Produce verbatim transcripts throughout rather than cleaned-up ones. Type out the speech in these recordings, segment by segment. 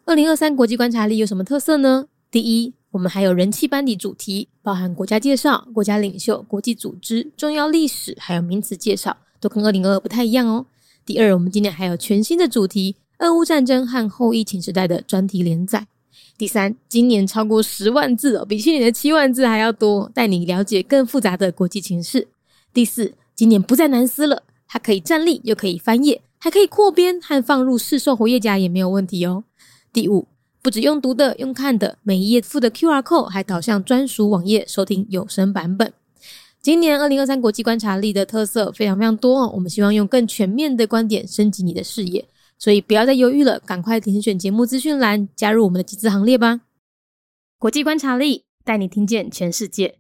二零二三国际观察力有什么特色呢？第一，我们还有人气班底主题，包含国家介绍、国家领袖、国际组织、重要历史，还有名词介绍，都跟二零二二不太一样哦。第二，我们今年还有全新的主题，俄乌战争和后疫情时代的专题连载。第三，今年超过十万字哦，比去年的七万字还要多，带你了解更复杂的国际情势。第四，今年不再难撕了，它可以站立又可以翻页，还可以扩编和放入市售活页夹也没有问题哦。第五，不只用读的用看的，每一页附的 Q R code 还导向专属网页收听有声版本。今年二零二三国际观察力的特色非常非常多哦，我们希望用更全面的观点升级你的视野，所以不要再犹豫了，赶快点选节目资讯栏加入我们的集资行列吧。国际观察力带你听见全世界。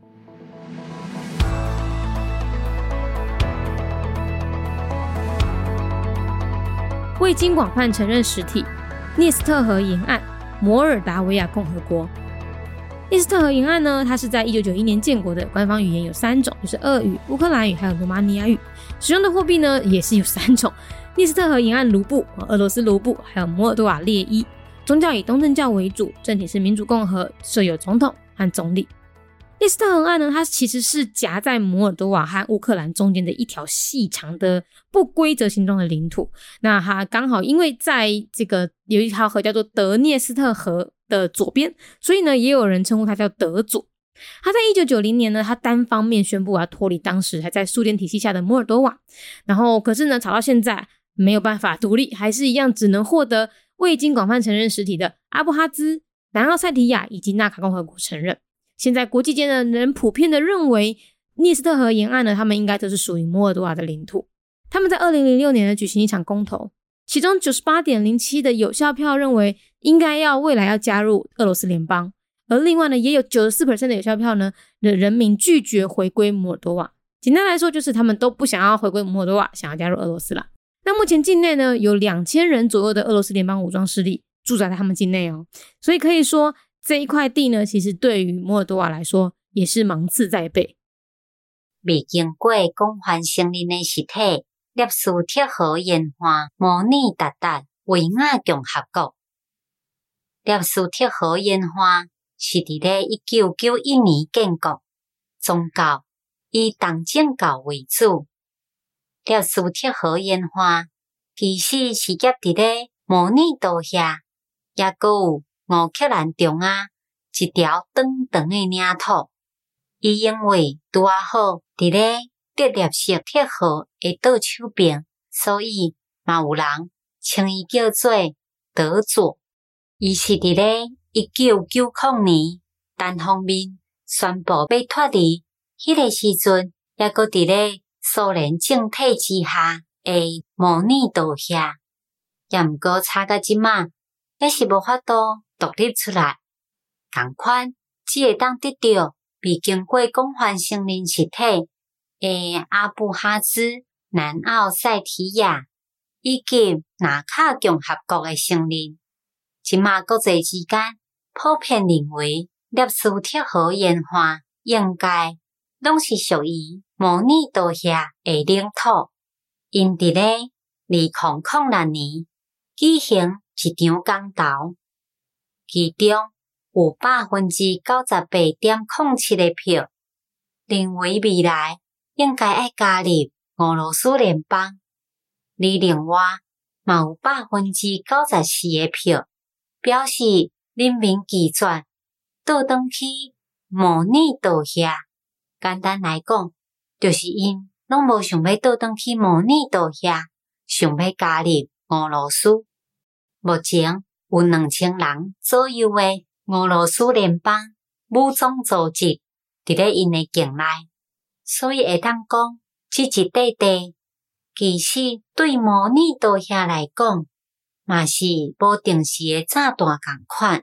未经广泛承认实体，涅斯特河沿岸，摩尔达维亚共和国。涅斯特河沿岸呢，它是在一九九一年建国的，官方语言有三种，就是俄语、乌克兰语还有罗马尼亚语。使用的货币呢也是有三种，涅斯特河沿岸卢布、俄罗斯卢布，还有摩尔多瓦列伊。宗教以东正教为主，政体是民主共和，设有总统和总理。涅斯特河岸呢，它其实是夹在摩尔多瓦和乌克兰中间的一条细长的不规则形状的领土。那它刚好因为在这个有一条河叫做德涅斯特河的左边，所以呢也有人称呼它叫德左。他在一九九零年呢，他单方面宣布要脱离当时还在苏联体系下的摩尔多瓦，然后可是呢吵到现在没有办法独立，还是一样只能获得未经广泛承认实体的阿布哈兹、南奥塞提亚以及纳卡共和国承认。现在国际间的人普遍的认为涅斯特河沿岸呢，他们应该都是属于摩尔多瓦的领土。他们在二零零六年呢举行一场公投，其中 百分之九十八点零七 的有效票认为应该要未来要加入俄罗斯联邦，而另外呢也有 百分之九十四 的有效票呢的人民拒绝回归摩尔多瓦。简单来说就是他们都不想要回归摩尔多瓦，想要加入俄罗斯啦。那目前境内呢有两千人左右的俄罗斯联邦武装势力驻扎在他们境内哦，所以可以说这一块地呢其实对于摩尔多瓦来说也是芒刺在背。 未经过广泛承认的实体涅斯特河沿岸模拟达达维亚共和国。涅斯特河沿岸是在一九九一年建国，宗教以东正教为主。涅斯特河沿岸其实是夹在模拟岛遐，也还有乌克兰中央一条长长的领土。伊因为拄啊好伫咧德涅斯特河的岛手边，所以嘛有人称伊叫做德左。伊是伫咧一九九零年单方面宣布要脱离，迄个时阵也搁伫咧苏联政体之下的模拟岛遐，也毋过差到即马，也是无法度独立出来。同款，只会当得到未经过广泛承认实体的阿布哈兹、南奥塞提亚以及纳卡共和国的承认。即马国际之间普遍认为，涅斯特河沿岸应该拢是属于模拟岛遐的领土。因伫咧二零零六年举行一场公投，其中有百分之九十八点零七的票认为未来应该要加入俄罗斯联邦，而另外嘛有百分之九十四的票表示人民拒绝倒转去模拟岛遐。简单来讲，就是因拢无想要倒转去模拟岛遐，想要加入俄罗斯。目前有两千人左右的俄罗斯联邦武装组织伫咧因的境内，所以会当讲，这一块地其实对模拟岛遐来讲，嘛是无定时的炸弹同款。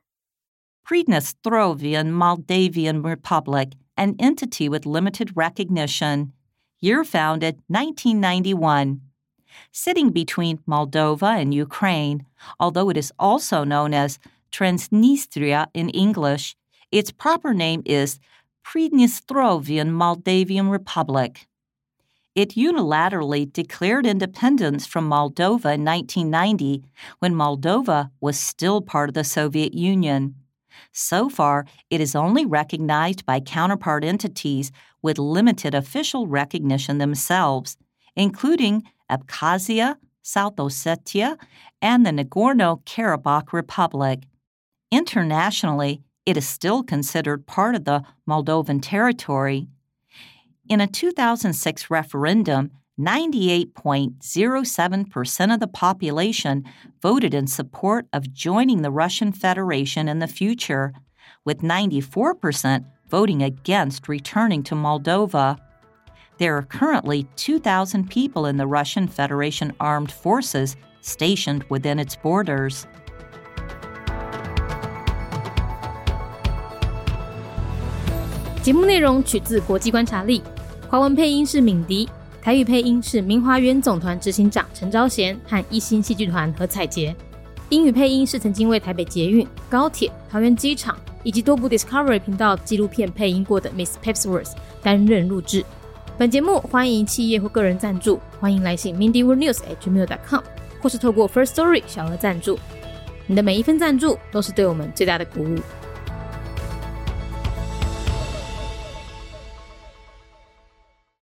Pridnestrovyan Moldavian Republic, an entity with limited recognition. Year founded nineteen ninety-one. Sitting between Moldova and Ukraine, although it is also known as Transnistria in English, its proper name is Pridnestrovyan Moldavian Republic. It unilaterally declared independence from Moldova in nineteen ninety, when Moldova was still part of the Soviet Union. So far, it is only recognized by counterpart entities with limited official recognition themselves, including Abkhazia, South Ossetia, and the Nagorno-Karabakh Republic. Internationally, it is still considered part of the Moldovan territory. In a two thousand six referendum, ninety-eight point zero seven percent of the population voted in support of joining the Russian Federation in the future, with ninety-four percent voting against returning to Moldova. There are currently two thousand people in the Russian Federation Armed Forces stationed within its borders. 节目内容取自国际观察力，华文配音是敏迪，台语配音是明华园总团执行长陈昭贤和一心戏剧团何彩杰，英语配音是曾经为台北捷运、高铁、桃园机场以及多部 Discovery 频道纪录片配音过的 Miss Pepsworth 担任录制。本节目欢迎企业或个人赞助，欢迎来信 mindy world news at gmail dot com 或是透过 First Story 小额赞助。你的每一份赞助都是对我们最大的鼓舞。